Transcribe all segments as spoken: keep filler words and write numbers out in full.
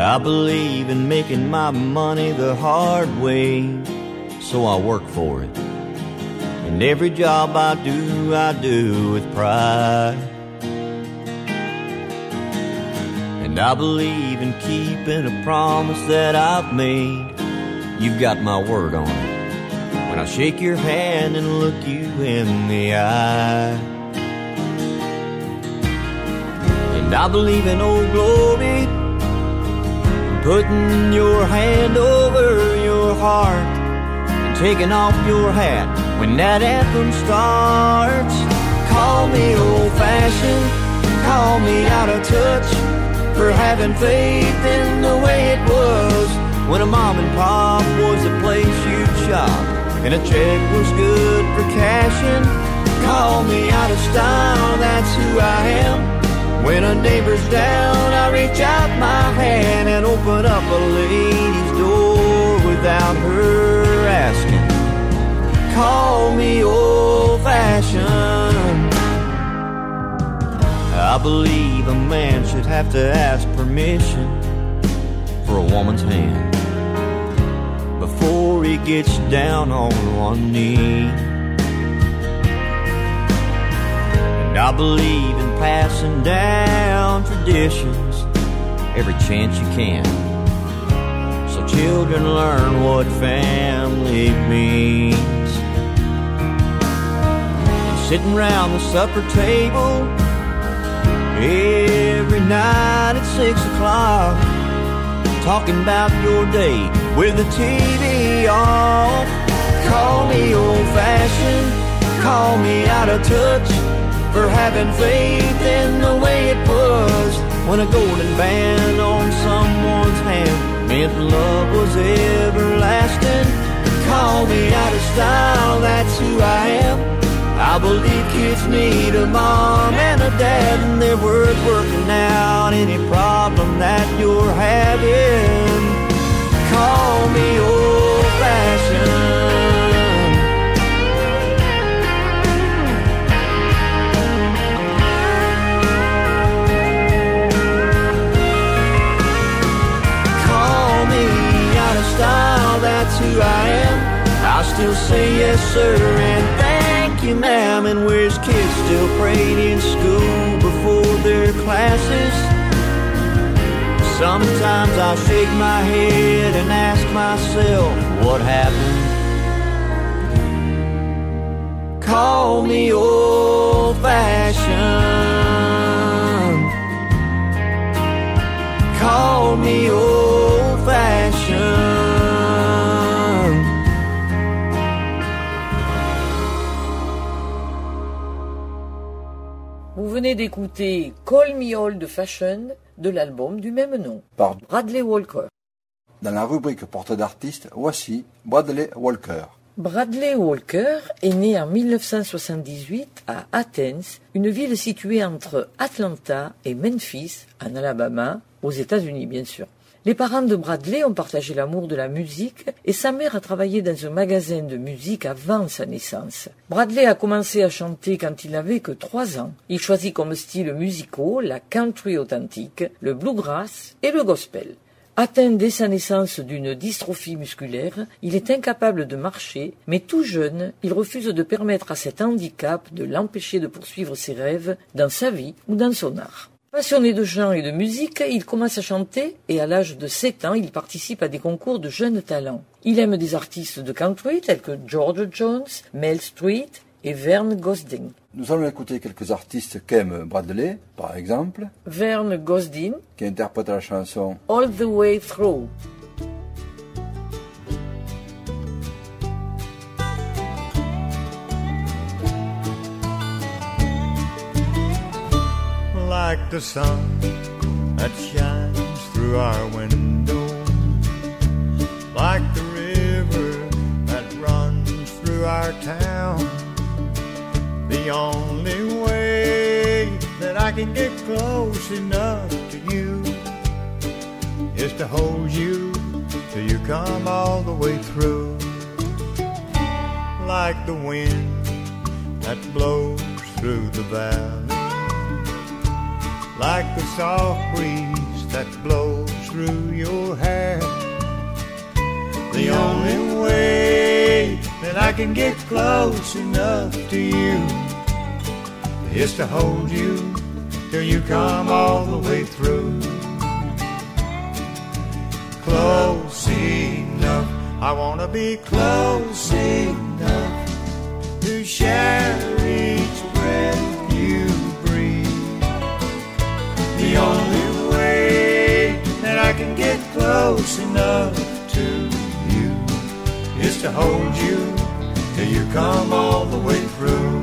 I believe in making my money the hard way, so I work for it. And every job I do, I do with pride. And I believe in keeping a promise that I've made. You've got my word on it when I shake your hand and look you in the eye. And I believe in Old Glory, putting your hand over your heart and taking off your hat when that anthem starts. Call me old-fashioned, call me out of touch, for having faith in the way it was when a mom and pop was the place you'd shop and a check was good for cashing. Call me out of style, that's who I am. When a neighbor's down, I reach out my hand and open up a lady's door without her asking. Call me old-fashioned. I believe a man should have to ask permission for a woman's hand before he gets down on one knee. And I believe in passing down traditions every chance you can, so children learn what family means. And sitting round the supper table every night at six o'clock, talking about your day with the T V off. Call me old-fashioned, call me out of touch, for having faith in the way it was when a golden band on someone's hand meant love was everlasting. Call me out of style, that's who I am. I believe kids need a mom and a dad, and they're worth working out any problem that you're having. Call me old-fashioned. Call me out of style, that's who I am. I'll still say yes sir and thank you ma'am. And where's kids still prayed in school before their classes? Sometimes I'll shake my head and ask myself what happened. Call me old-fashioned, call me old-fashioned. Vous venez d'écouter Call Me Old-Fashioned de l'album du même nom, par Bradley Walker. Dans la rubrique portrait d'artiste, voici Bradley Walker. Bradley Walker est né en mille neuf cent soixante-dix-huit à Athens, une ville située entre Atlanta et Memphis, en Alabama, aux États-Unis bien sûr. Les parents de Bradley ont partagé l'amour de la musique et sa mère a travaillé dans un magasin de musique avant sa naissance. Bradley a commencé à chanter quand il n'avait que trois ans. Il choisit comme style musicaux la country authentique, le bluegrass et le gospel. Atteint dès sa naissance d'une dystrophie musculaire, il est incapable de marcher, mais tout jeune, il refuse de permettre à cet handicap de l'empêcher de poursuivre ses rêves dans sa vie ou dans son art. Passionné de chant et de musique, il commence à chanter et à l'âge de sept ans, il participe à des concours de jeunes talents. Il aime des artistes de country tels que George Jones, Mel Street et Vern Gosdin. Nous allons écouter quelques artistes qu'aime Bradley, par exemple Vern Gosdin, qui interprète la chanson All the Way Through. Like the sun that shines through our window, like the river that runs through our town. The only way that I can get close enough to you is to hold you till you come all the way through. Like the wind that blows through the valley, like the soft breeze that blows through your hair. The only way that I can get close enough to you is to hold you till you come all the way through. Close enough, I wanna be close enough to share each breath you breathe. The only way that I can get close enough to you is to hold you till you come all the way through.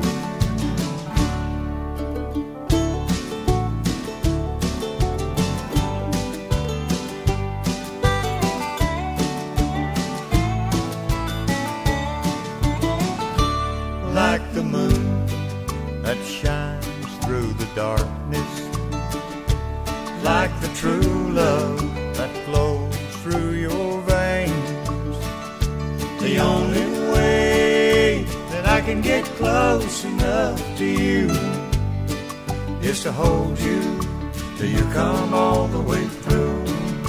Like the moon that shines through the darkness, like the true love that flows through your veins. The only way that I can get close enough to you is to hold you till you come all the way through.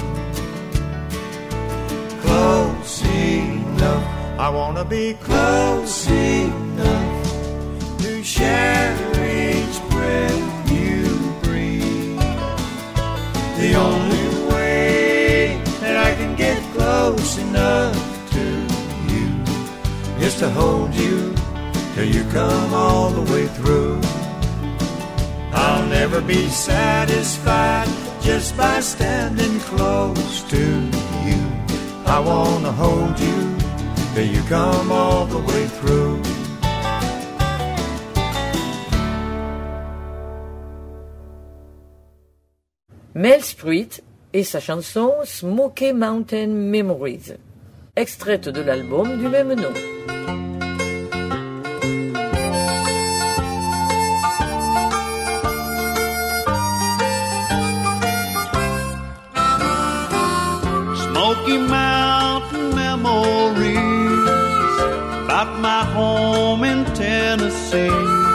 Close enough, I wanna be close enough to share each breath you breathe. The only way that I can get close enough to you is to hold you till you come all the way through. I'll never be satisfied just by standing close to you. I wanna hold you till you come all the way through. Mel Street et sa chanson Smoky Mountain Memories, extraite de l'album du même nom. Smoky Mountain memories about my home in Tennessee.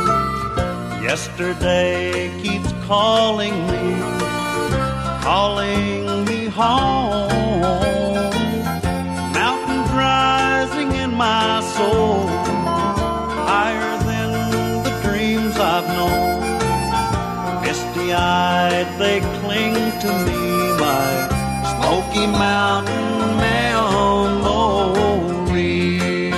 Yesterday keeps calling me, calling me home. Mountains rising in my soul, higher than the dreams I've known. Misty-eyed they cling to me, my Smoky Mountain memories.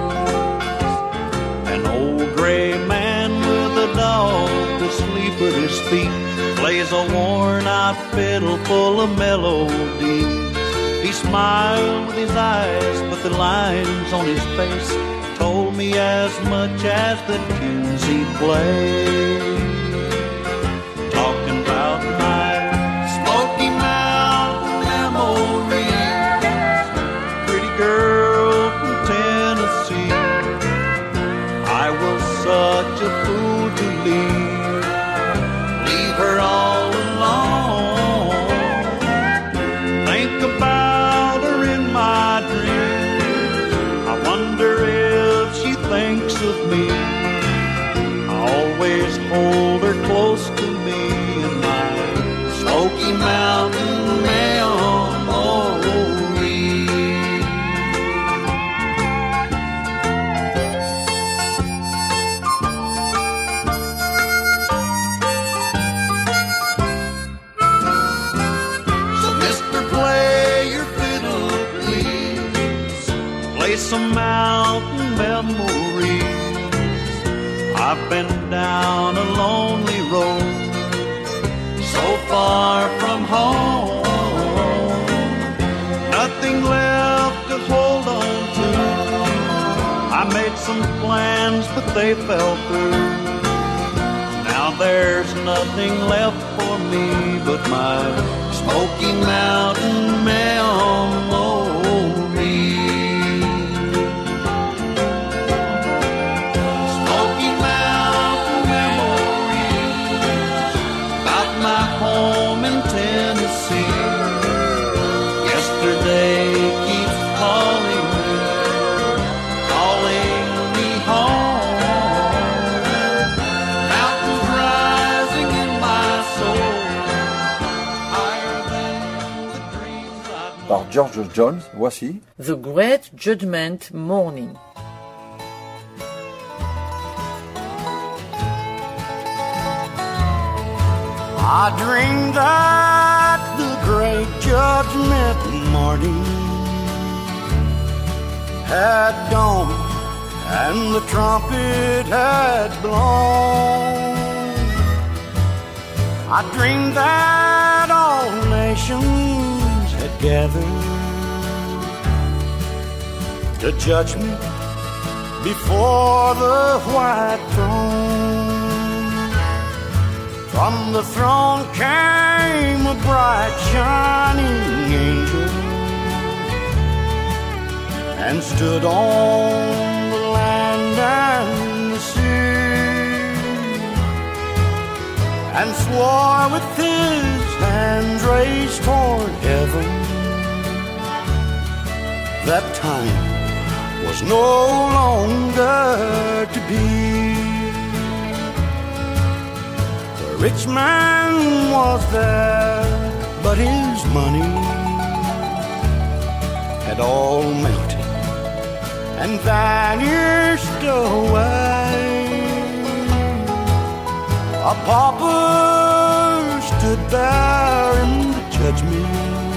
An old gray man with a dog asleep at his feet plays a worn-out fiddle full of melodies. He smiled with his eyes, but the lines on his face told me as much as the tunes he played. Talking about my Smoky Mountain memories, pretty girl from Tennessee. I was such a fool to leave, leave her all alone. Think about her in my dreams, I wonder if she thinks of me. I always hold her close to me in my Smoky Mountain memories. So mister, play your fiddle, please. Play some mountain memories. I've been down a lonely road, so far from home, nothing left to hold on to. I made some plans, but they fell through. Now there's nothing left for me but my Smoky Mountain memories. Smoky Mountain memories about my home in Tennessee. Yesterday keeps calling me, calling me home. Mountains rising in my soul, higher than George Jones, voici The Great Judgment Morning. I dreamed that the great judgment morning had dawned and the trumpet had blown. I dreamed that all nations had gathered to judgment before the white throne. From the throne came a bright shining angel and stood on the land and the sea and swore with his hands raised toward heaven that time was no longer to be. The rich man was there, but his money had all melted and vanished away. A pauper stood there in the judgment.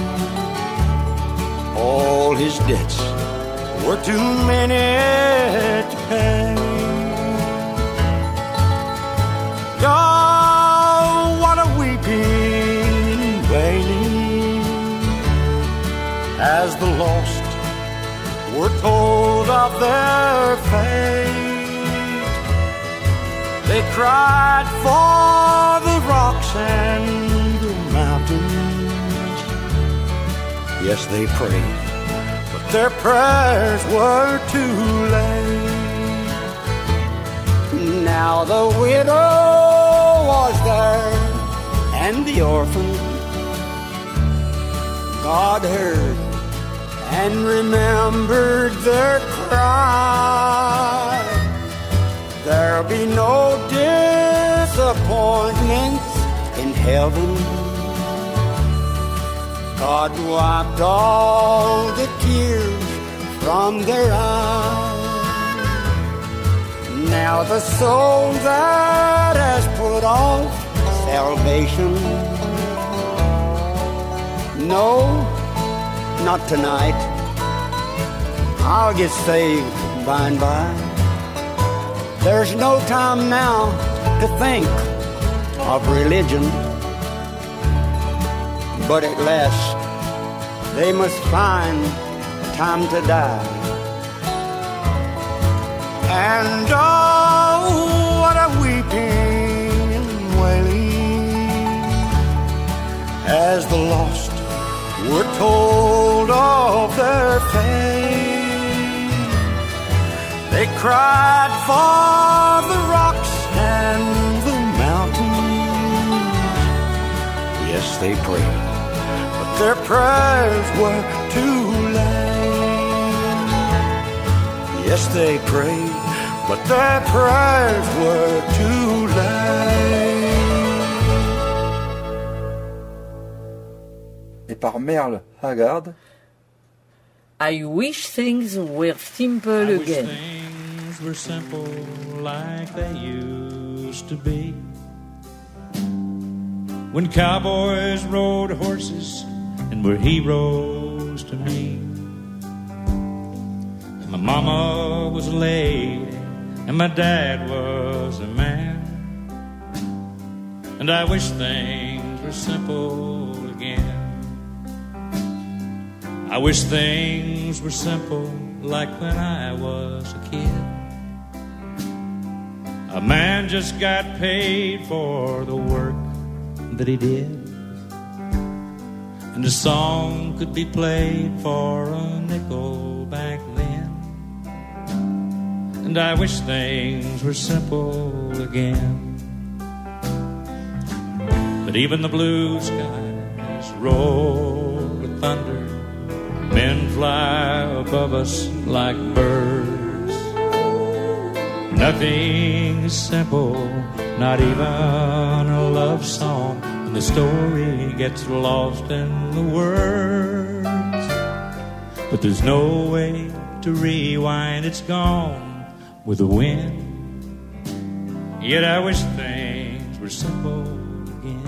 All his debts were too many to pay. Oh, what a weeping and wailing as the lost were told of their fate. They cried for the rocks and the mountains. Yes, they prayed, but their prayers were too late. Now the widow was there and the orphan. God heard and remembered their cry. There'll be no disappointments in heaven. God wiped all the tears from their eyes. Now the soul that has put off salvation, no, not tonight. I'll get saved by and by. There's no time now to think of religion, but at last they must find time to die. And oh, what a weeping and wailing as the lost were told of their fate. They cried for the rocks and the mountains. Yes, they prayed, but their prayers were too late. Yes, they prayed, but their prayers were too late. et par Merle Haggard. I wish things were simple I again. wish things were simple like they used to be. When cowboys rode horses and were heroes to me. And my mama was a lady and my dad was a man. And I wish things were simple again. I wish things were simple like when I was a kid. A man just got paid for the work that he did, and a song could be played for a nickel back then. And I wish things were simple again. But even the blue skies roll with thunder. Men fly above us like birds. Nothing is simple, not even a love song, when the story gets lost in the words. but there's no way to rewind. It's gone with the wind. Yet I wish things were simple again.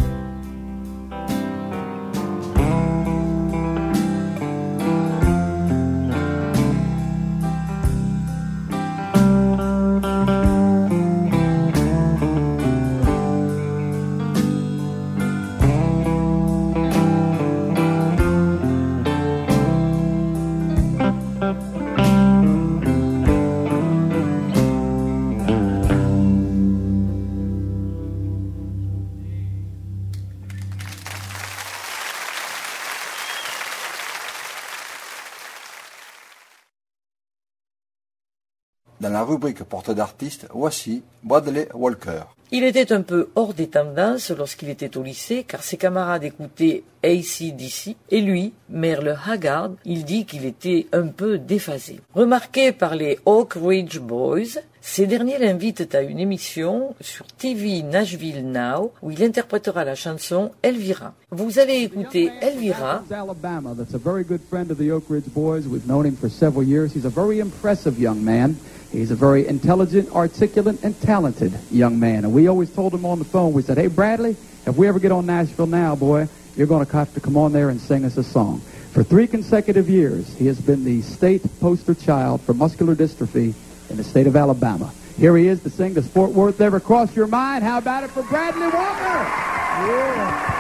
Dans la rubrique portrait d'artiste, voici Bradley Walker. Il était un peu hors des tendances lorsqu'il était au lycée, car ses camarades écoutaient A C D C, et lui, Merle Haggard, il dit qu'il était un peu déphasé. Remarqué par les Oak Ridge Boys, ces derniers l'invitent à une émission sur T V Nashville Now, où il interprétera la chanson Elvira. Vous allez écouter Elvira. Alabama, that's a very good friend of the Oak Ridge Boys. We've known him for several years. He's a very impressive young man. He's a very intelligent, articulate, and talented young man. And we always told him on the phone, we said, hey, Bradley, if we ever get on Nashville Now, boy, you're going to have to come on there and sing us a song. For three consecutive years, he has been the state poster child for muscular dystrophy in the state of Alabama. Here he is to sing Does Fort Worth Ever Cross Your Mind? How about it for Bradley Walker? Yeah.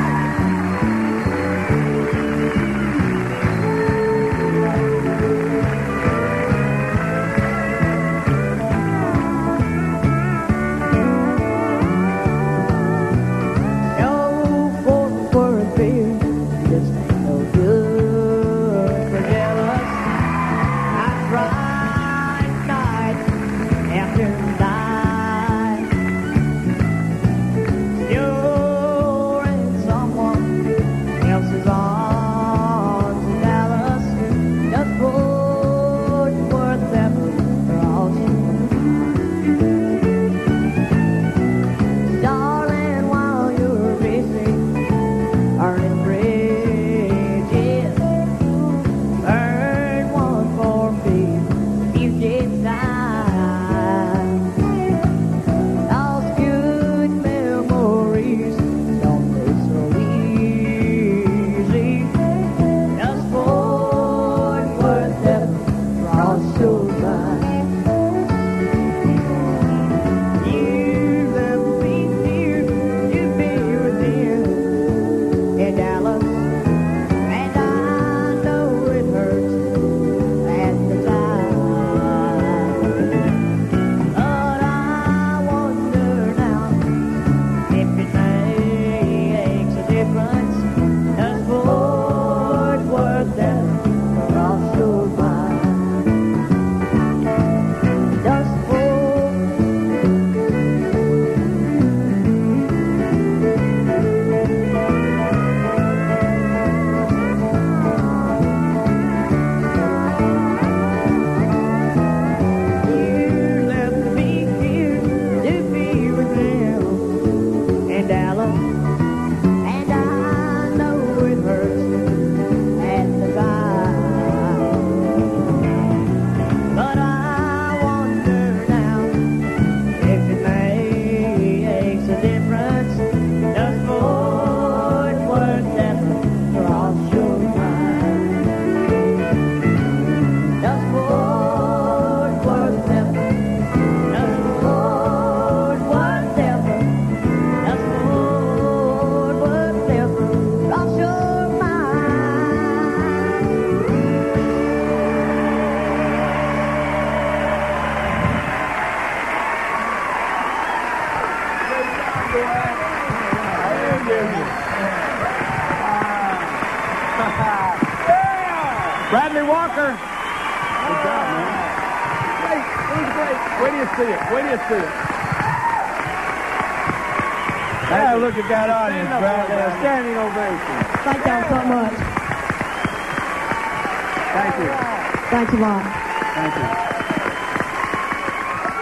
Bradley Walker. Good job, man. Great. It was great. Wait till you see it. Wait till you see it. Yeah, look at that audience, Bradley. A standing ovation. Thank y'all so much. Thank you. Thanks a lot. Thank you.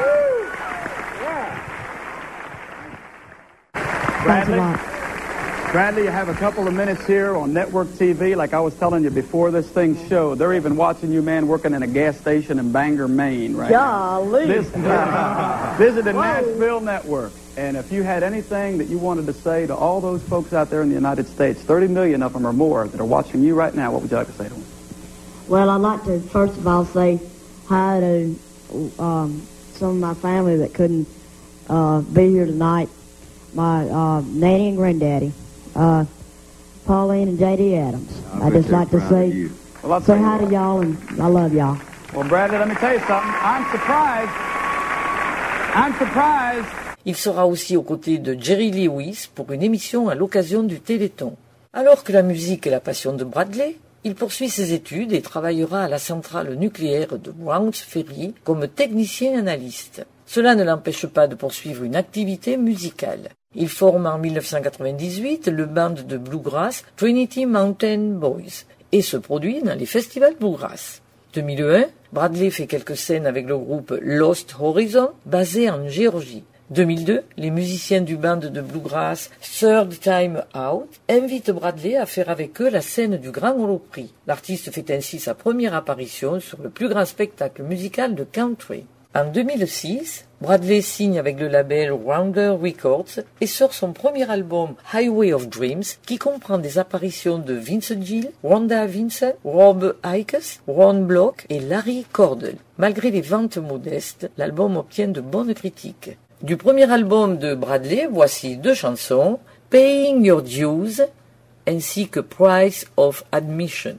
Thanks a lot. Bradley, you have a couple of minutes here on network T V. Like I was telling you before this thing showed, they're even watching you, man, working in a gas station in Bangor, Maine, right Golly. now. This, visit the Nashville Network. And if you had anything that you wanted to say to all those folks out there in the United States, thirty million of them or more that are watching you right now, what would you like to say to them? Well, I'd like to, first of all, say hi to um, some of my family that couldn't uh, be here tonight. My uh, nanny and granddaddy, uh, Pauline and J D Adams. I I'd just like to say, well, say hi to y'all, and I love y'all. Well, Bradley, let me tell you something. I'm surprised. I'm surprised. Il sera aussi aux côtés de Jerry Lewis pour une émission à l'occasion du Téléthon. Alors que la musique est la passion de Bradley, il poursuit ses études et travaillera à la centrale nucléaire de Browns Ferry comme technicien analyste. Cela ne l'empêche pas de poursuivre une activité musicale. Il forme en mille neuf cent quatre-vingt-dix-huit le band de bluegrass Trinity Mountain Boys et se produit dans les festivals bluegrass. deux mille un, Bradley fait quelques scènes avec le groupe Lost Horizon, basé en Géorgie. deux mille deux, les musiciens du band de bluegrass Third Time Out invitent Bradley à faire avec eux la scène du Grand Ole Opry. L'artiste fait ainsi sa première apparition sur le plus grand spectacle musical de country. En deux mille six, Bradley signe avec le label Rounder Records et sort son premier album Highway of Dreams qui comprend des apparitions de Vince Gill, Rhonda Vincent, Rob Ickes, Ron Block et Larry Cordell. Malgré les ventes modestes, l'album obtient de bonnes critiques. Du premier album de Bradley, voici deux chansons, Paying Your Dues ainsi que Price of Admission.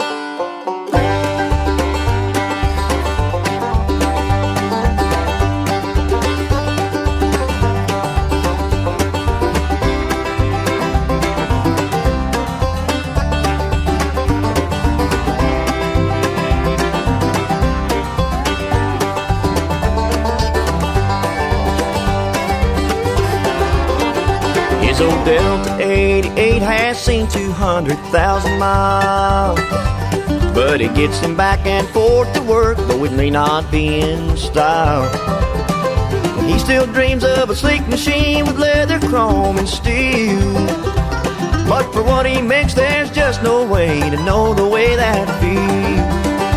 His old Delta eighty-eight has seen two hundred thousand miles, but it gets him back and forth to work, though it may not be in style. He still dreams of a sleek machine with leather, chrome, and steel, but for what he makes there's just no way to know the way that feels.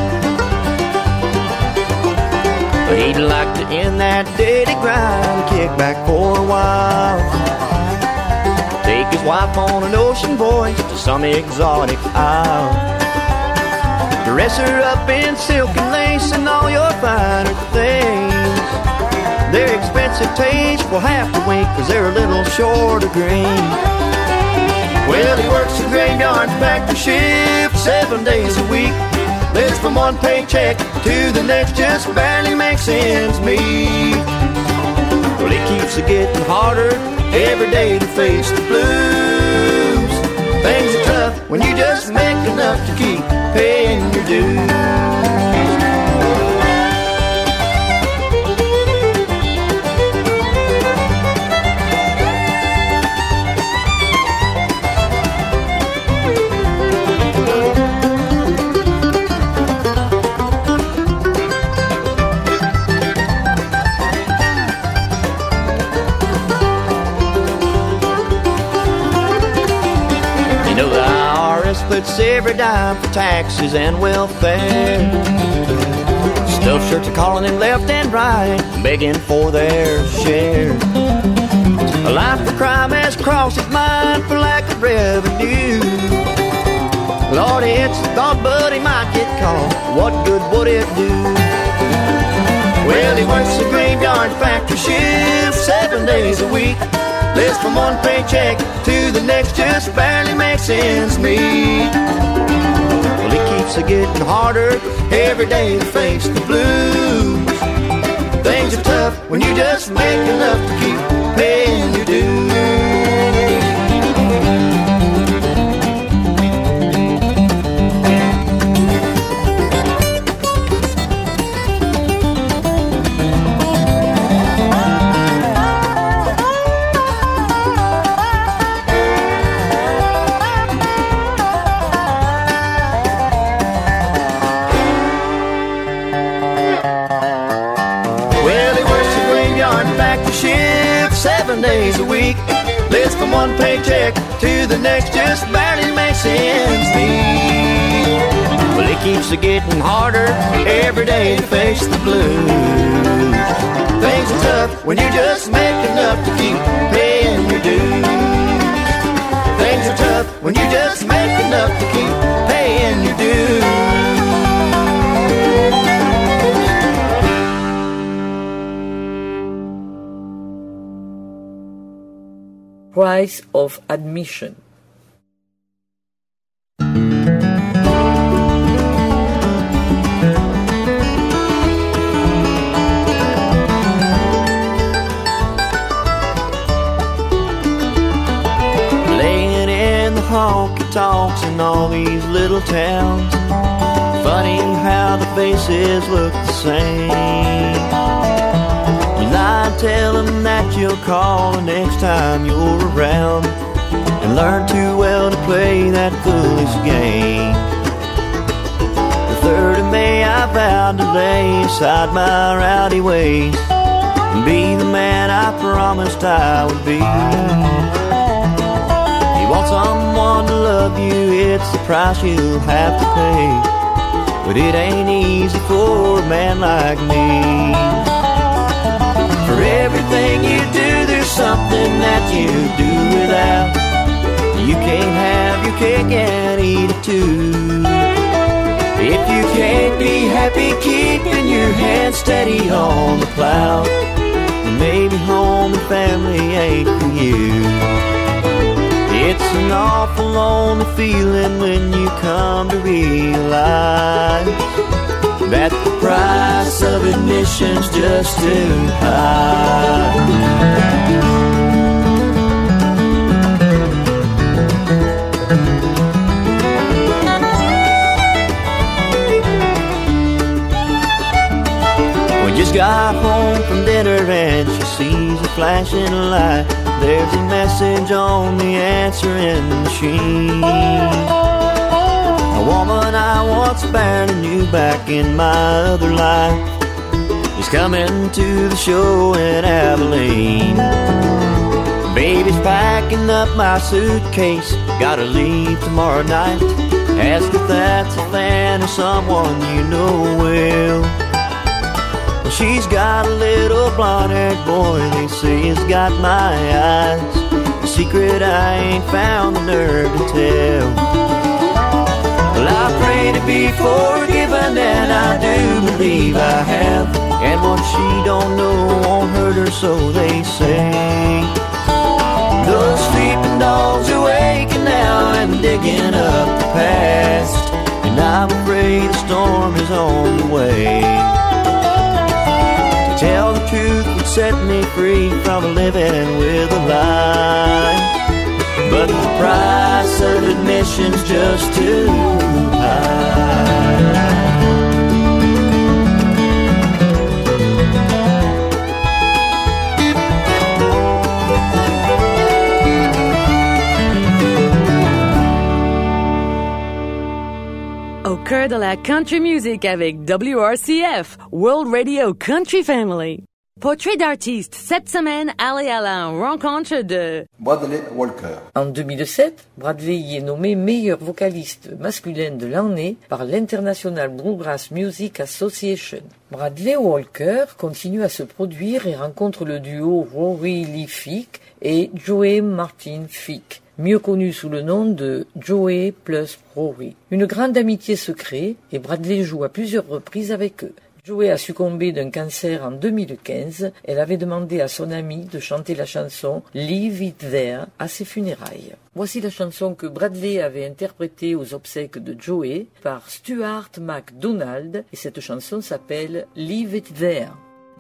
But he'd like to end that daily grind, kick back for a while, take his wife on an ocean voyage to some exotic isle, dress her up in silk and lace and all your finer things. Their expensive taste will have to wait, cause they're a little short of green. Well, he works a graveyard factory shift seven days a week, lives from one paycheck to the next, just barely makes ends meet. Well, it keeps it getting harder every day to face the blues. Things are tough when you just make enough to keep paying your dues. Puts every dime for taxes and welfare. Stuffed shirts are calling him left and right, begging for their share. A life of crime has crossed his mind for lack of revenue. Lord, it's a thought, but he might get caught. What good would it do? Well, he works a graveyard factory shift seven days a week, lives from one paycheck to the next, just barely makes ends meet. Well, it keeps it getting harder every day to face the blues. Things are tough when you just make enough to keep paying your dues. Seven days a week, Lives from one paycheck to the next, just barely makes ends meet. Well, it keeps it getting harder every day to face the blues. Things are tough when you just make enough to keep paying your dues. Things are tough when you just make enough to keep paying your dues. Price of admission. Laying in the honky tonks in all these little towns. Funny how the faces look the same. I tell them that you'll call the next time you're around, and learn too well to play that foolish game. The third of May I vowed to lay aside my rowdy ways and be the man I promised I would be. You want someone to love you, it's the price you'll have to pay, but it ain't easy for a man like me. For everything you do, there's something that you do without. You can't have your cake and eat it too. If you can't be happy keeping your hand steady on the plow, then maybe home and family ain't for you. It's an awful lonely feeling when you come to realize that the price of admission's just too high. We just got home from dinner and she sees a flashing light. There's a message on the answering machine. A woman I once barely knew back in my other life is coming to the show in Abilene. Baby's packing up my suitcase, gotta leave tomorrow night. Ask if that's a fan or someone you know well. Well, she's got a little blonde-haired boy they say has got my eyes, a secret I ain't found the nerve to tell. Well, I pray to be forgiven, and I do believe I have. And what she don't know won't hurt her, so they say. Those sleeping dogs are waking now and digging up the past, and I'm afraid the storm is on the way. To tell the truth would set me free from living with a lie, but the price of admission's just too high. Au cœur de la country music avec W R C F, World Radio Country Family. Portrait d'artiste, cette semaine, allez à la rencontre de Bradley Walker. En deux mille sept, Bradley y est nommé meilleur vocaliste masculin de l'année par l'International Bluegrass Music Association. Bradley Walker continue à se produire et rencontre le duo Rory Lee Fick et Joey Martin Fick, mieux connu sous le nom de Joey plus Rory. Une grande amitié se crée et Bradley joue à plusieurs reprises avec eux. Joey a succombé d'un cancer en deux mille quinze. Elle avait demandé à son ami de chanter la chanson Leave It There à ses funérailles. Voici la chanson que Bradley avait interprétée aux obsèques de Joey par Stuart McDonald et cette chanson s'appelle Leave It There.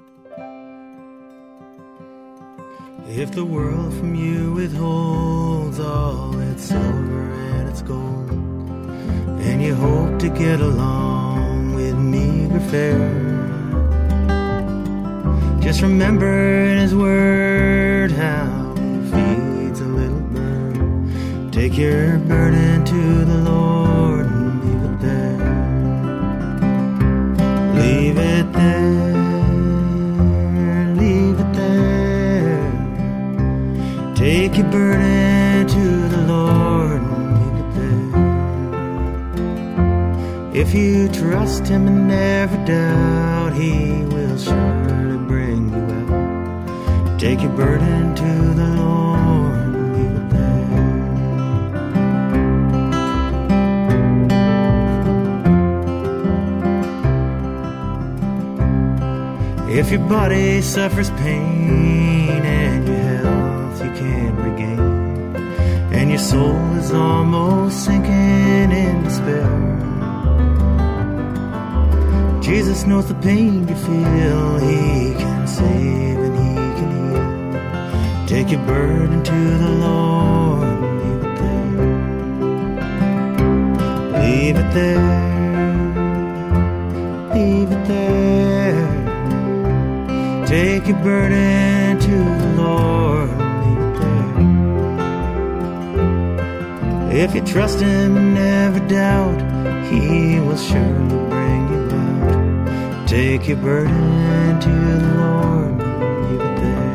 If the world from you withholds all its silver and its gold, and you hope to get along with meager fare, just remember in his word how he feeds a little bird. Take your burden to the Lord and leave it there. Leave it there, leave it there. Take your burden to the Lord and leave it there. If you trust Him and never doubt, He will surely bring you out. Take your burden to the Lord and leave it there. If your body suffers pain and your health you can't regain, and your soul is almost sinking in despair, Jesus knows the pain you feel. He can save and He can heal. Take your burden to the Lord and leave it there. Leave it there. Leave it there. Take your burden to the Lord. If you trust Him and never doubt, He will surely bring you out. Take your burden to the Lord and leave it there.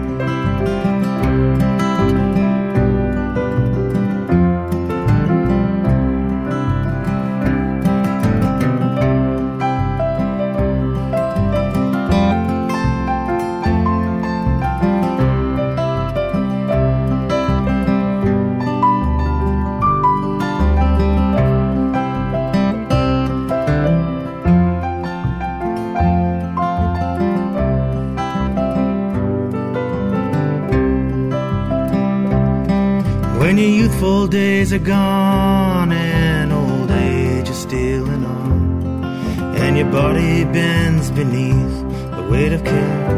When your youthful days are gone and old age is stealing on, and your body bends beneath the weight of care,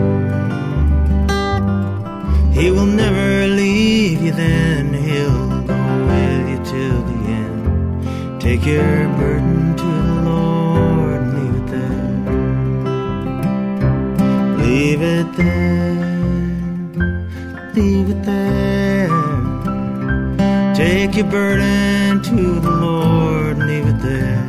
He will never leave you then. He'll go with you till the end. Take your burden to the Lord and leave it there. Leave it there. Leave it there. Take your burden to the Lord and leave it there.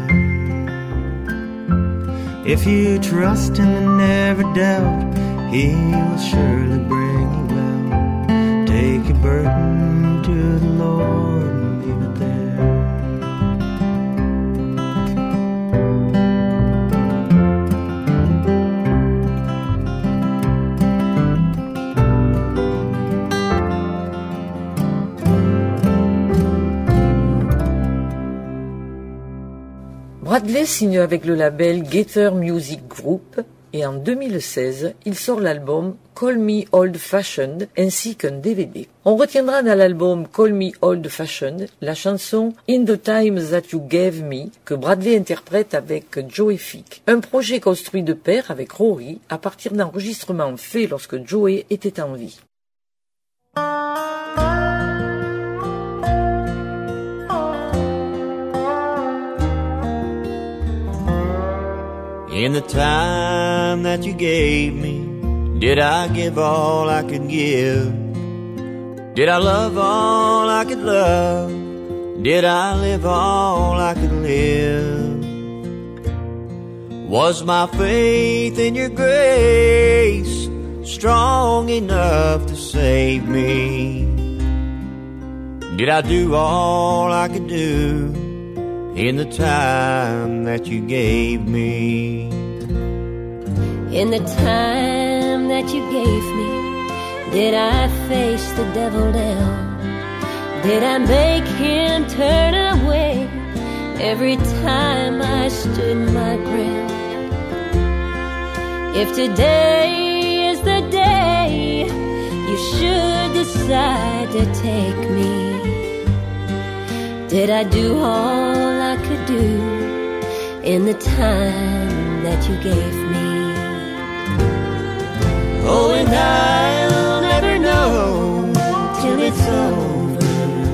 If you trust Him and never doubt, He will surely bring you out. Take your burden to the Lord and leave it there. Bradley signe avec le label Gator Music Group et en deux mille seize, il sort l'album Call Me Old Fashioned ainsi qu'un D V D. On retiendra dans l'album Call Me Old Fashioned la chanson In the Time That You Gave Me que Bradley interprète avec Joey Fick, un projet construit de pair avec Rory à partir d'enregistrements faits lorsque Joey était en vie. In the time that you gave me, did I give all I could give? Did I love all I could love? Did I live all I could live? Was my faith in your grace strong enough to save me? Did I do all I could do in the time that you gave me? In the time that you gave me, did I face the devil down? Did I make him turn away every time I stood my ground? If today is the day you should decide to take me, did I do all I could do in the time that you gave me? Oh, and I'll never know till it's over,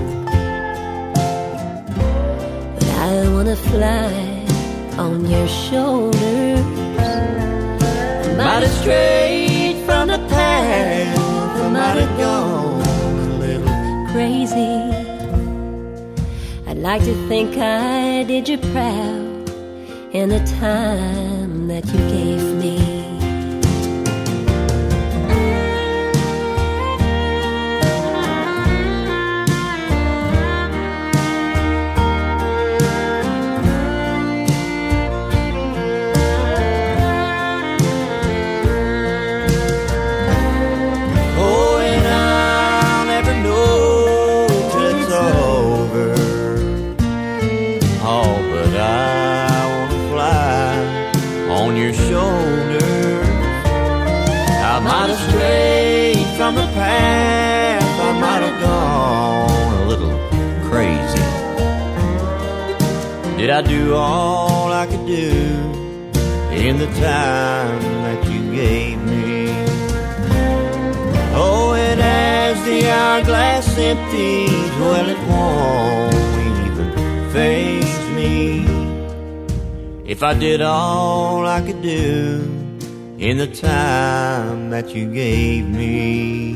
but I wanna fly on your shoulders. I might have strayed from the path, I might have gone a little crazy. I'd like to think I did you proud in the time that you gave me. the path, I might have gone a little crazy. Did I do all I could do in the time that you gave me? Oh, and as the hourglass empties, well, it won't even faze me. If I did all I could do in the time that you gave me.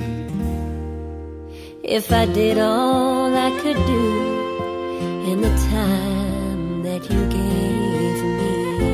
If I did all I could do in the time that you gave me.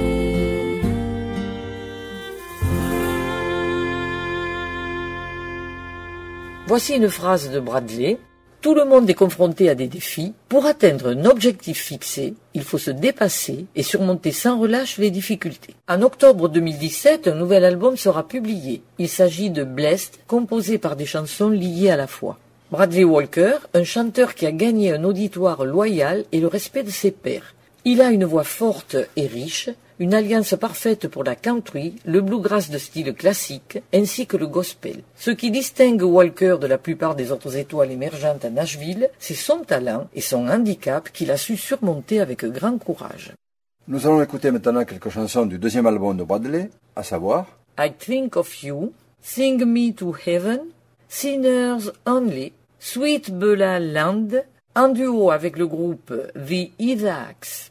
Voici une phrase de Bradley. Tout le monde est confronté à des défis. Pour atteindre un objectif fixé, il faut se dépasser et surmonter sans relâche les difficultés. En octobre deux mille dix-sept, un nouvel album sera publié. Il s'agit de Blessed, composé par des chansons liées à la foi. Bradley Walker, un chanteur qui a gagné un auditoire loyal et le respect de ses pairs. Il a une voix forte et riche, une alliance parfaite pour la country, le bluegrass de style classique, ainsi que le gospel. Ce qui distingue Walker de la plupart des autres étoiles émergentes à Nashville, c'est son talent et son handicap qu'il a su surmonter avec grand courage. Nous allons écouter maintenant quelques chansons du deuxième album de Bradley, à savoir I Think of You, Sing Me to Heaven, Sinners Only, Sweet Beulah Land, en duo avec le groupe The Isaacs.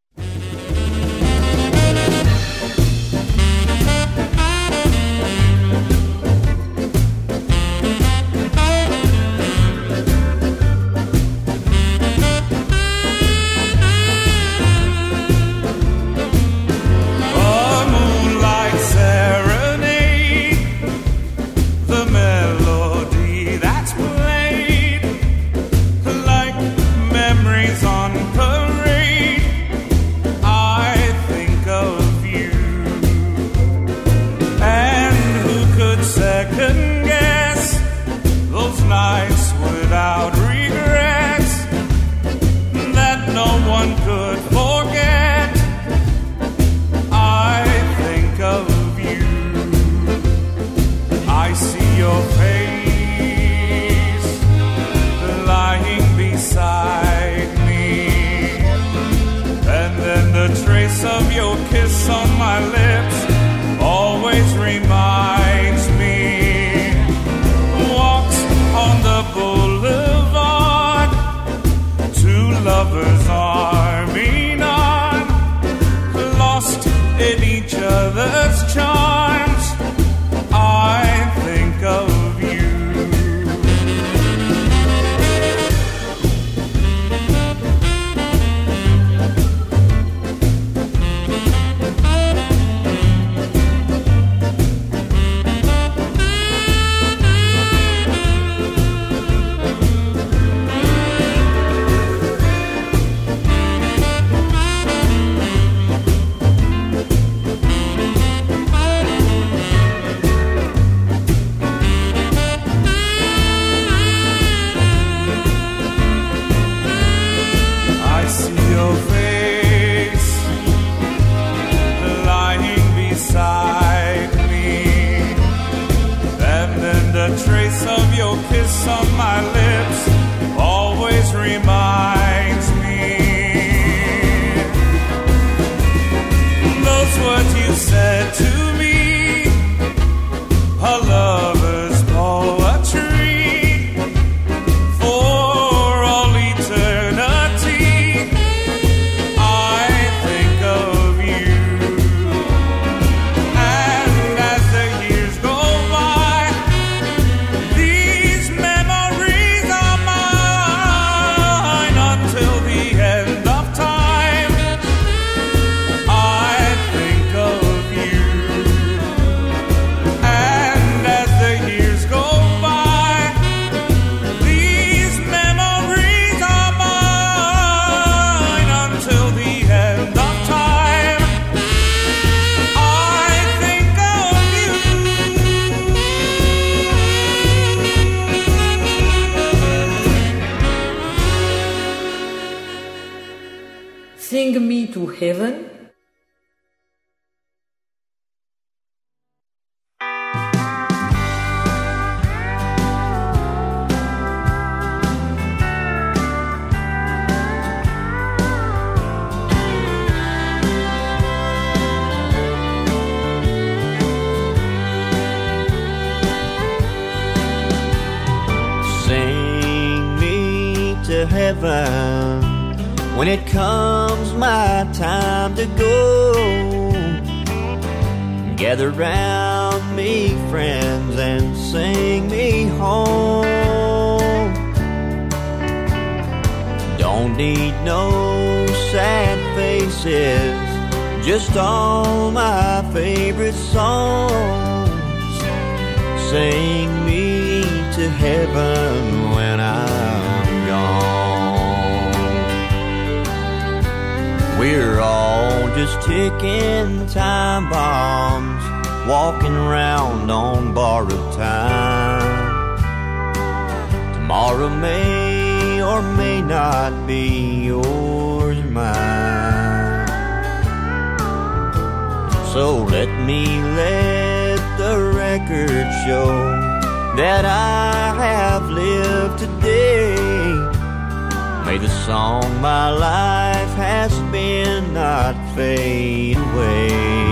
Sing Me to Heaven. Sing me to heaven when it comes my time to go. Gather round me, friends, and sing me home. Don't need no sad faces, just all my favorite songs. Sing me to heaven when I'm gone. We're all just ticking time bombs, walking around on borrowed time. Tomorrow may or may not be yours or mine. So let me let the record show that I have lived today. May the song my life has been not fade away.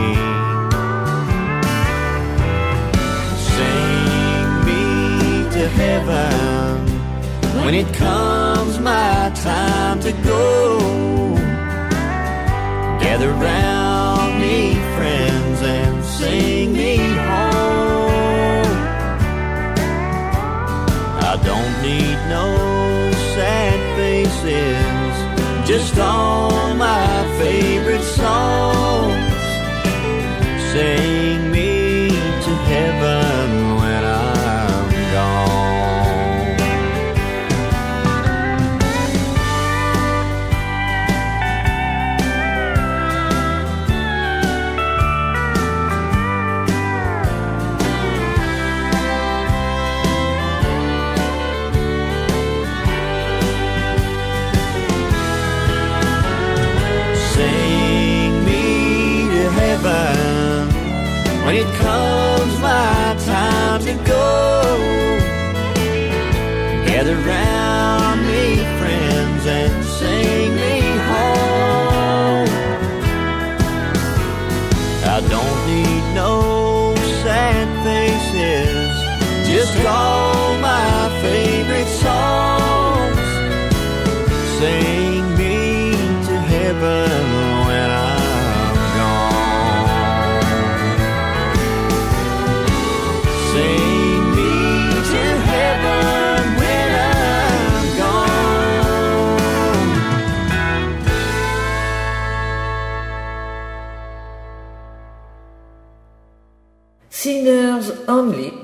Sing me to heaven when it comes my time to go. Gather round me, friends, and sing me home. I don't need no sad faces, just all my favorite songs. Sing me to heaven when I'm gone. When it comes my time to go, gather round me, friends, and sing me home. I don't need no sad faces, just all my favorite songs. Sing me to heaven when I'm gone. Sing me to heaven when I'm gone. Singers Only.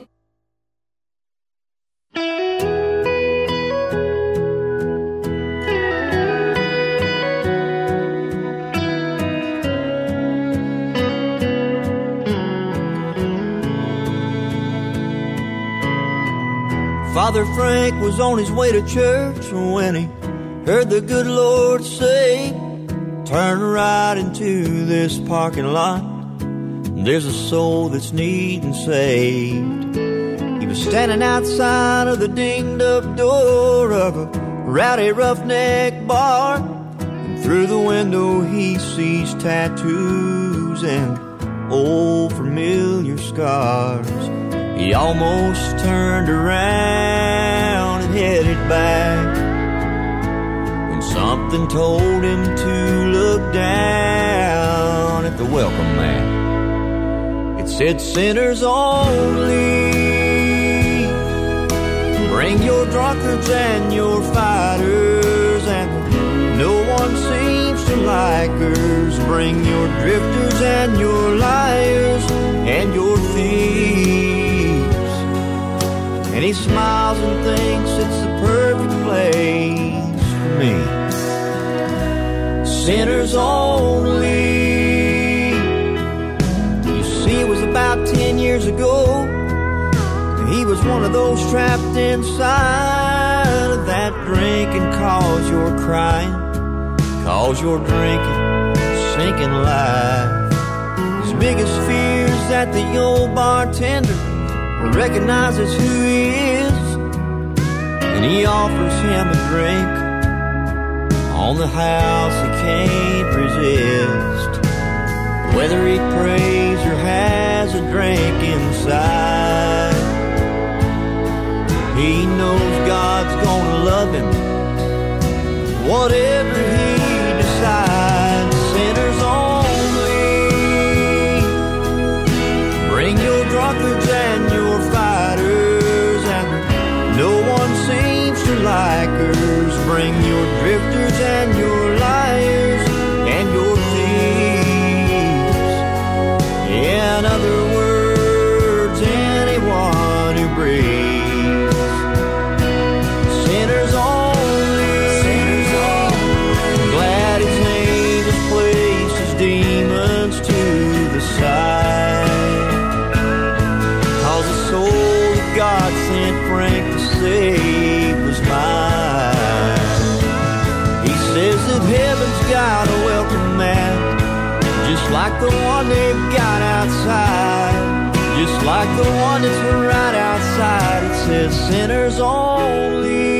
Father Frank was on his way to church when he heard the good Lord say, turn right into this parking lot. There's a soul that's needing saved. He was standing outside of the dinged up door of a rowdy roughneck bar, and through the window he sees tattoos and old familiar scars. He almost turned around and headed back when something told him to look down at the welcome mat. It said, sinners only. Bring your drunkards and your fighters, and no one seems to like hers. Bring your drifters and your liars and your thieves. And he smiles and thinks it's the perfect place for me. Sinners only. You see, it was about ten years ago. He was one of those trapped inside of that drinking cause you're crying, cause you're drinking, sinking life. His biggest fear is that the old bartender recognizes who he is, and he offers him a drink on the house he can't resist. Whether he prays or has a drink inside, He knows God's gonna love him, whatever he decides. Sinners only. Bring your drunkards and your fighters, and no one seems to like hers. Bring your drifters and your liars and your thieves. In other words, anyone who breathes. Sinners only. Sinners only. Glad his name has placed his demons to the side. Cause the soul that God sent Frank to save was mine. He says that heaven's got a welcome mat, just like the one they've got outside. Just like the one that's right outside. It says sinners only.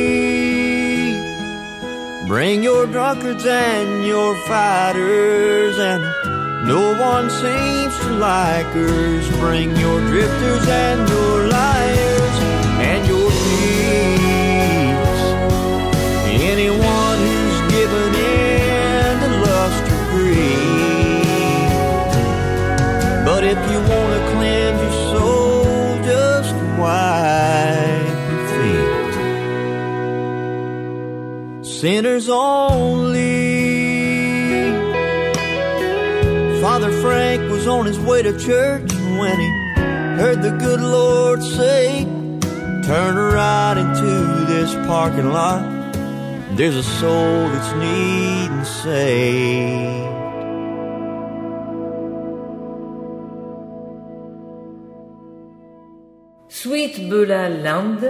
Bring your drunkards and your fighters, and no one seems to like hers. Bring your drifters and your liars and your thieves. Anyone who's given in to lust or greed. But if you want to cleanse your soul, just wipe your feet. Sinners only. Father Frank was on his way to church when he heard the good Lord say, turn right into this parking lot. There's a soul that's needing saved. Sweet Beulah Land.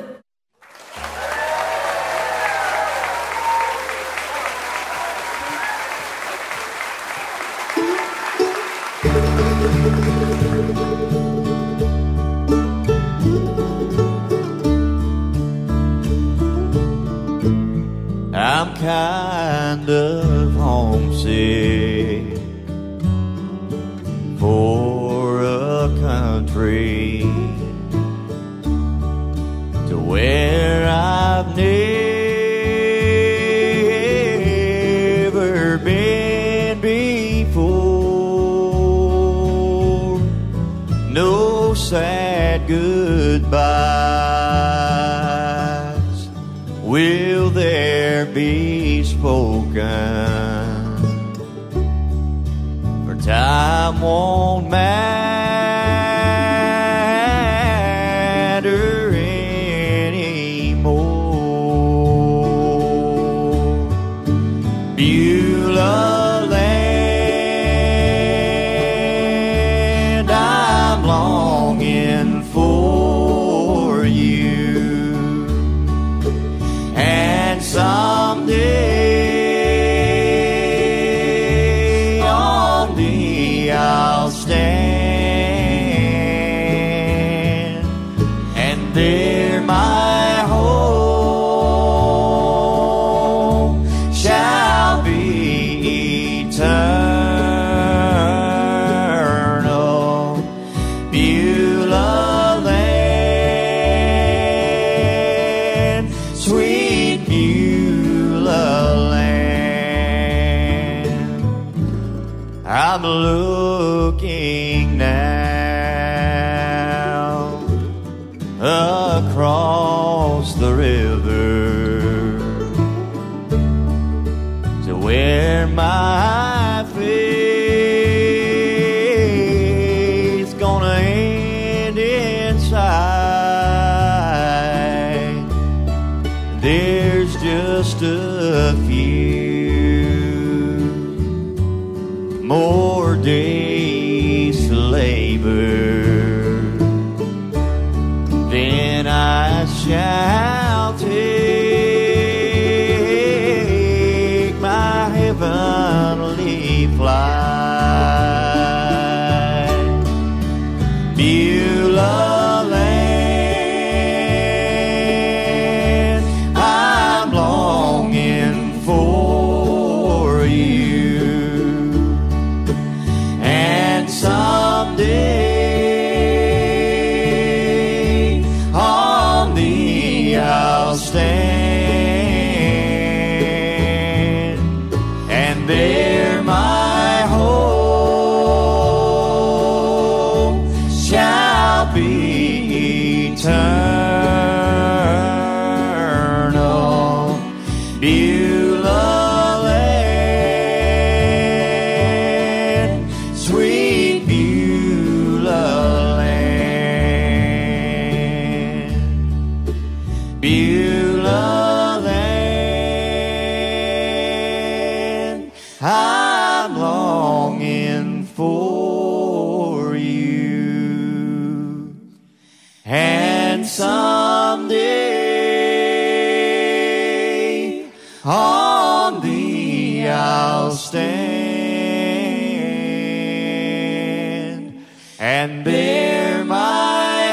I'm kind of homesick for a country to where I've never been before. No sad goodbyes will there be spoken, for time won't matter anymore. Beulah land, I'm longing for you, and someday on thee I'll stand, and there my home shall be eternal. Beulah land, sweet Beulah land. I'm looking now across the river to where my faith's gonna end inside. There's just a few more days to labor, then I shall take my heavenly flight. Beulah land, I'm longing for you, and someday on thee stand, and there my home shall be eternal. Beulah land, sweet Beulah land, Beulah land, I'm longing for you, and someday on thee I'll stand, and there my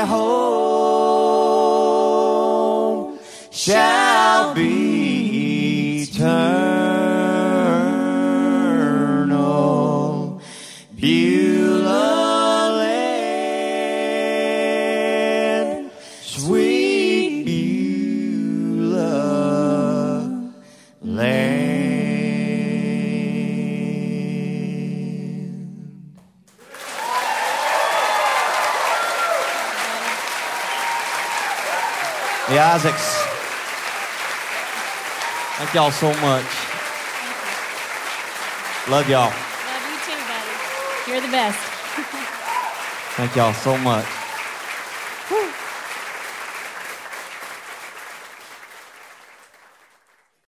home shall be eternal. Beulah land, sweet Beulah land. The Isaacs. Thank y'all so much. Love y'all. Love you too, buddy. You're the best. Thank y'all so much. Whew.